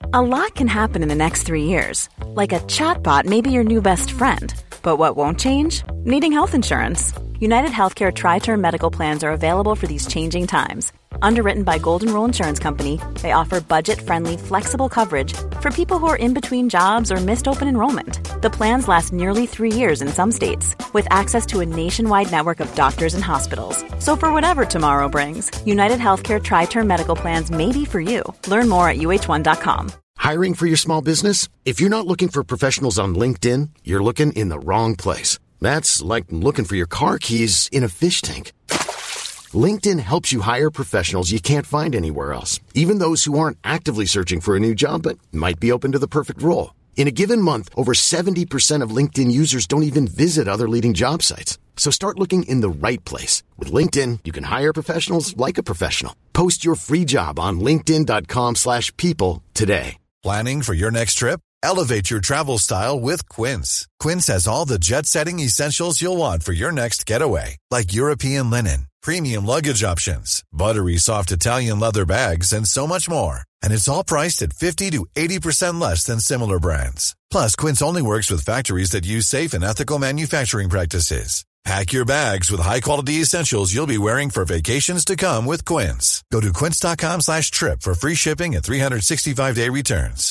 A lot can happen in the next 3 years. Like a chatbot may be your new best friend. But what won't change? Needing health insurance. United Healthcare Tri-Term Medical Plans are available for these changing times. Underwritten by Golden Rule Insurance Company, they offer budget-friendly, flexible coverage for people who are in between jobs or missed open enrollment. The plans last nearly 3 years in some states, with access to a nationwide network of doctors and hospitals. So for whatever tomorrow brings, United Healthcare Tri-Term Medical Plans may be for you. Learn more at uh1.com. Hiring for your small business? If you're not looking for professionals on LinkedIn, you're looking in the wrong place. That's like looking for your car keys in a fish tank. LinkedIn helps you hire professionals you can't find anywhere else, even those who aren't actively searching for a new job but might be open to the perfect role. In a given month, over 70% of LinkedIn users don't even visit other leading job sites. So start looking in the right place. With LinkedIn, you can hire professionals like a professional. Post your free job on linkedin.com/people today. Planning for your next trip? Elevate your travel style with Quince. Quince has all the jet-setting essentials you'll want for your next getaway, like European linen, premium luggage options, buttery soft Italian leather bags, and so much more. And it's all priced at 50 to 80% less than similar brands. Plus, Quince only works with factories that use safe and ethical manufacturing practices. Pack your bags with high-quality essentials you'll be wearing for vacations to come with Quince. Go to quince.com/trip for free shipping and 365-day returns.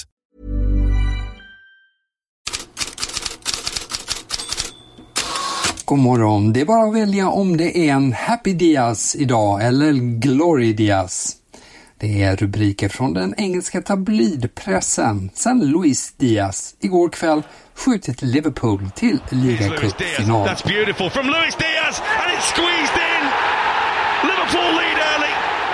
God morgon, det är bara att välja om det är en Happy Diaz idag eller Glory Diaz. Det är rubriker från den engelska tabloidpressen sen Luis Diaz igår kväll skjutit Liverpool till ligacupfinal. That's beautiful from Luis Diaz and it's squeezed in. Liverpool lead early.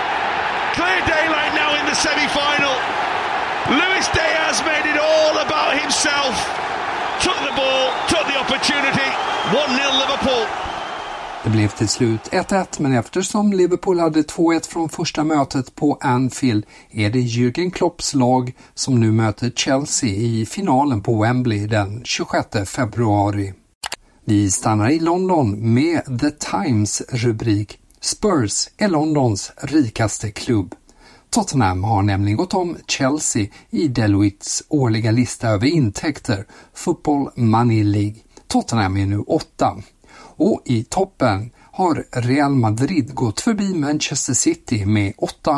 Clear daylight now in the semi-final. Luis Diaz made it all about himself. Took the ball, took the opportunity. 1-0 Liverpool. Det blev till slut 1-1, men eftersom Liverpool hade 2-1 från första mötet på Anfield är det Jürgen Klopps lag som nu möter Chelsea i finalen på Wembley den 26 februari. Vi stannar i London med The Times rubrik Spurs är Londons rikaste klubb. Tottenham har nämligen gått om Chelsea i Deloittes årliga lista över intäkter, Football Money League. Tottenham är nu 8. Och i toppen har Real Madrid gått förbi Manchester City med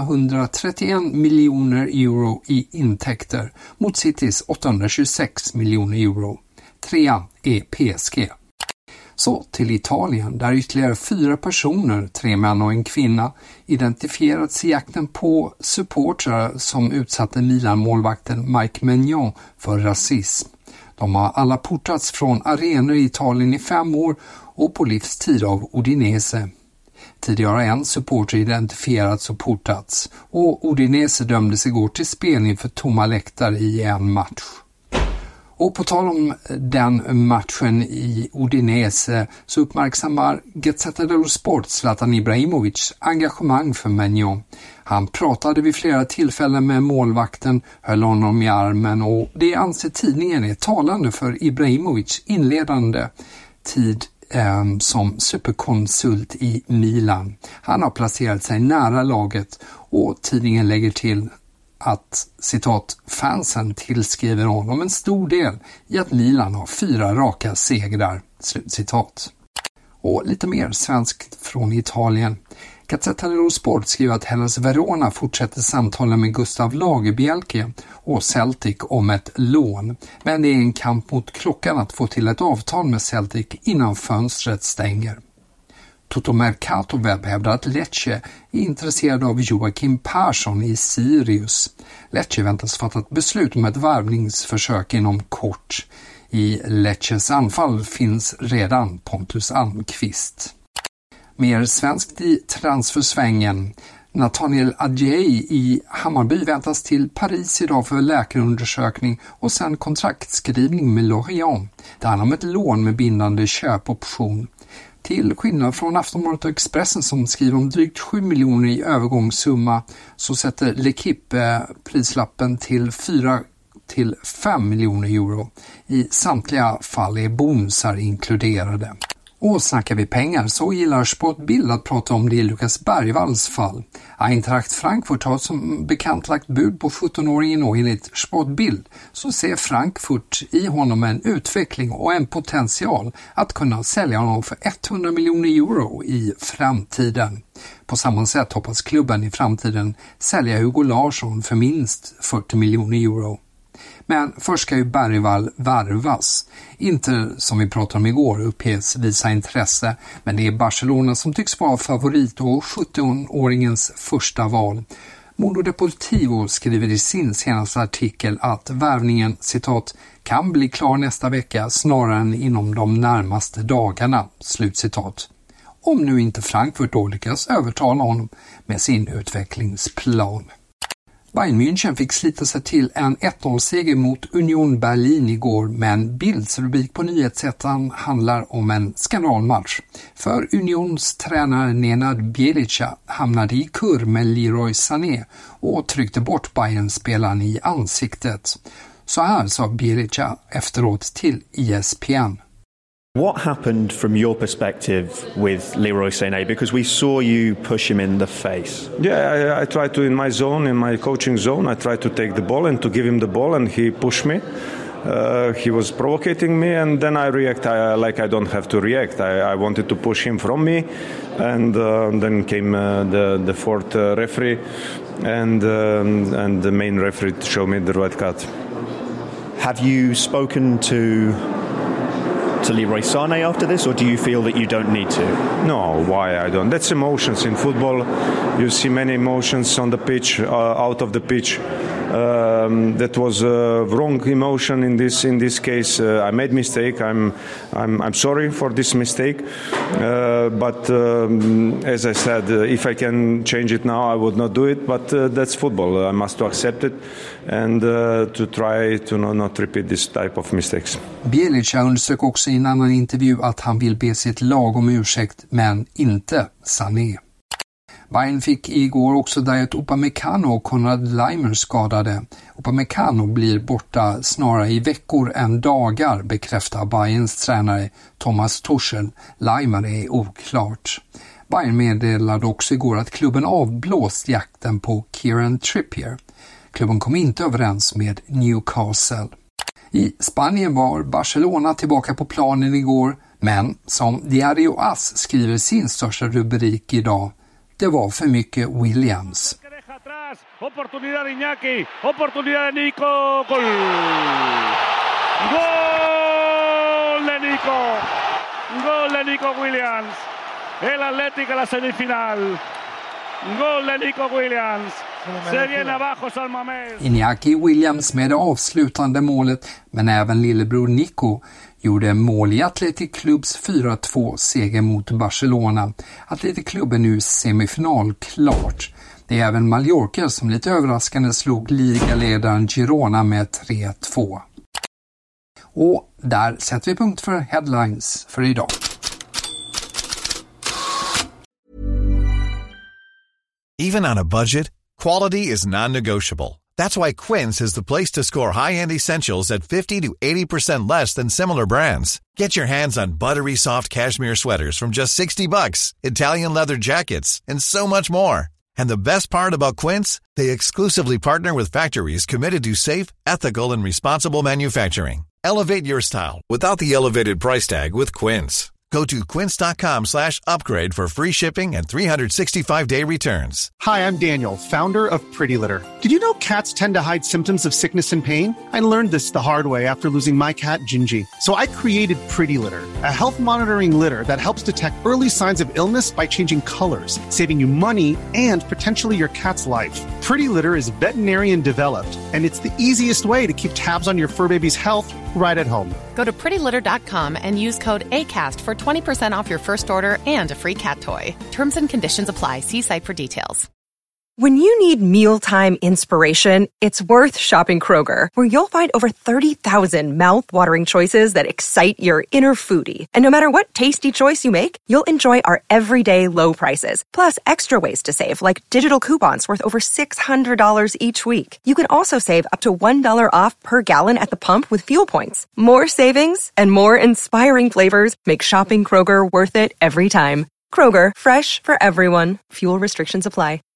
831 miljoner euro i intäkter mot Citys 826 miljoner euro. 3 är PSG. Så till Italien där ytterligare 4 personer, 3 män och en kvinna, identifierats i jakten på supportrar som utsatte Milan-målvakten Mike Maignan för rasism. De har alla portats från arenor i Italien i 5 år och på livstid av Udinese. Tidigare har en supporter identifierats och portats och Udinese dömdes igår till spel inför tomma läktare i en match. Och på tal om den matchen i Udinese så uppmärksammar Gazzetta dello Sport Zlatan Ibrahimovic engagemang för Maignan. Han pratade vid flera tillfällen med målvakten, höll honom i armen och det anser tidningen är talande för Ibrahimovic inledande tid som superkonsult i Milan. Han har placerat sig nära laget och tidningen lägger till att, citat, fansen tillskriver honom en stor del i att Milan har 4 raka segrar, slutcitat. Och lite mer svenskt från Italien. Gazzetta dello Sport skriver att Hellas Verona fortsätter samtala med Gustav Lagerbielke och Celtic om ett lån. Men det är en kamp mot klockan att få till ett avtal med Celtic innan fönstret stänger. Toto Mercato Webb hävdar att Lecce är intresserad av Joakim Persson i Sirius. Lecce väntas fatta ett beslut om ett värvningsförsök inom kort. I Lecces anfall finns redan Pontus Almqvist. Mer svenskt i transfersvängen. Nathaniel Adjei i Hammarby väntas till Paris idag för läkarundersökning och sen kontraktskrivning med Lorient. Det handlar om ett lån med bindande köpoption. Till skillnad från Aftonbladet och Expressen som skriver om drygt 7 miljoner i övergångssumma så sätter L'Equipe prislappen till 4 till 5 miljoner euro. I samtliga fall är bonusar inkluderade. Och snackar vi pengar så gillar Sportbild att prata om det i Lukas Bergvalls fall. Eintracht Frankfurt har som bekant lagt bud på 17-åringen och enligt Sportbild så ser Frankfurt i honom en utveckling och en potential att kunna sälja honom för 100 miljoner euro i framtiden. På samma sätt hoppas klubben i framtiden sälja Hugo Larsson för minst 40 miljoner euro. Men först ska ju Bergvall värvas. Inte som vi pratade om igår uppges visa intresse, men det är Barcelona som tycks vara favorit och 17-åringens första val. Mundo Deportivo skriver i sin senaste artikel att värvningen, citat, kan bli klar nästa vecka snarare än inom de närmaste dagarna, slutcitat. Om nu inte Frankfurt då lyckas övertala honom med sin utvecklingsplan. Bayern München fick slita sig till en 1-0-seger mot Union Berlin igår, men Bilds rubrik på nyhetsättaren handlar om en skandalmatch. För Unions tränare Nenad Bjelica hamnade i kurr med Leroy Sané och tryckte bort Bayern-spelaren i ansiktet. Så här sa Bjelica efteråt till ESPN. What happened from your perspective with Leroy Sané? Because we saw you push him in the face. Yeah, I tried to, in my zone, in my coaching zone, I tried to take the ball and to give him the ball, and he pushed me. He was provocating me, and then I react like I don't have to react. I wanted to push him from me, and then came the fourth referee, and the main referee showed me the red card. Have you spoken to Leroy Sané after this, or do you feel that you don't need to? No, why I don't? That's emotions in football. You see many emotions on the pitch, out of the pitch. That was a wrong emotion in this case. I made mistake. I'm sorry for this mistake. But as I said, if I can change it now, I would not do it. But that's football. I must accept it and to try to not repeat this type of mistakes. Bjelica undersök också i en annan intervju att han vill be sitt lag om ursäkt, men inte Sané. Bayern fick igår också Dayot Upamecano och Konrad Laimer skadade. Upamecano blir borta snarare i veckor än dagar, bekräftar Bayerns tränare Thomas Tuchel. Laimer är oklart. Bayern meddelade också igår att klubben avblåst jakten på Kieran Trippier. Klubben kom inte överens med Newcastle. I Spanien var Barcelona tillbaka på planen igår, men som Diario AS skriver sin största rubrik idag, det var för mycket Williams. Oportunidad de Iñaki, oportunidad de Nico, gol! Gol de Nico Williams, el Atlético a la semifinal, gol de Nico Williams. Iñaki Williams med det avslutande målet, men även lillebror Nico gjorde mål i Athletic Clubs 4-2-seger mot Barcelona. Athletic Club är nu semifinal klart. Det är även Mallorca som lite överraskande slog ligaledaren Girona med 3-2. Och där sätter vi punkt för headlines för idag. Even on a budget, quality is non-negotiable. That's why Quince is the place to score high-end essentials at 50 to 80% less than similar brands. Get your hands on buttery soft cashmere sweaters from just $60, Italian leather jackets, and so much more. And the best part about Quince, they exclusively partner with factories committed to safe, ethical, and responsible manufacturing. Elevate your style without the elevated price tag with Quince. Go to quince.com/upgrade for free shipping and 365-day returns. Hi, I'm Daniel, founder of Pretty Litter. Did you know cats tend to hide symptoms of sickness and pain? I learned this the hard way after losing my cat, Gingy. So I created Pretty Litter, a health monitoring litter that helps detect early signs of illness by changing colors, saving you money and potentially your cat's life. Pretty Litter is veterinarian developed, and it's the easiest way to keep tabs on your fur baby's health right at home. Go to prettylitter.com and use code ACAST for 20% off your first order and a free cat toy. Terms and conditions apply. See site for details. When you need mealtime inspiration, it's worth shopping Kroger, where you'll find over 30,000 mouth-watering choices that excite your inner foodie. And no matter what tasty choice you make, you'll enjoy our everyday low prices, plus extra ways to save, like digital coupons worth over $600 each week. You can also save up to $1 off per gallon at the pump with fuel points. More savings and more inspiring flavors make shopping Kroger worth it every time. Kroger, fresh for everyone. Fuel restrictions apply.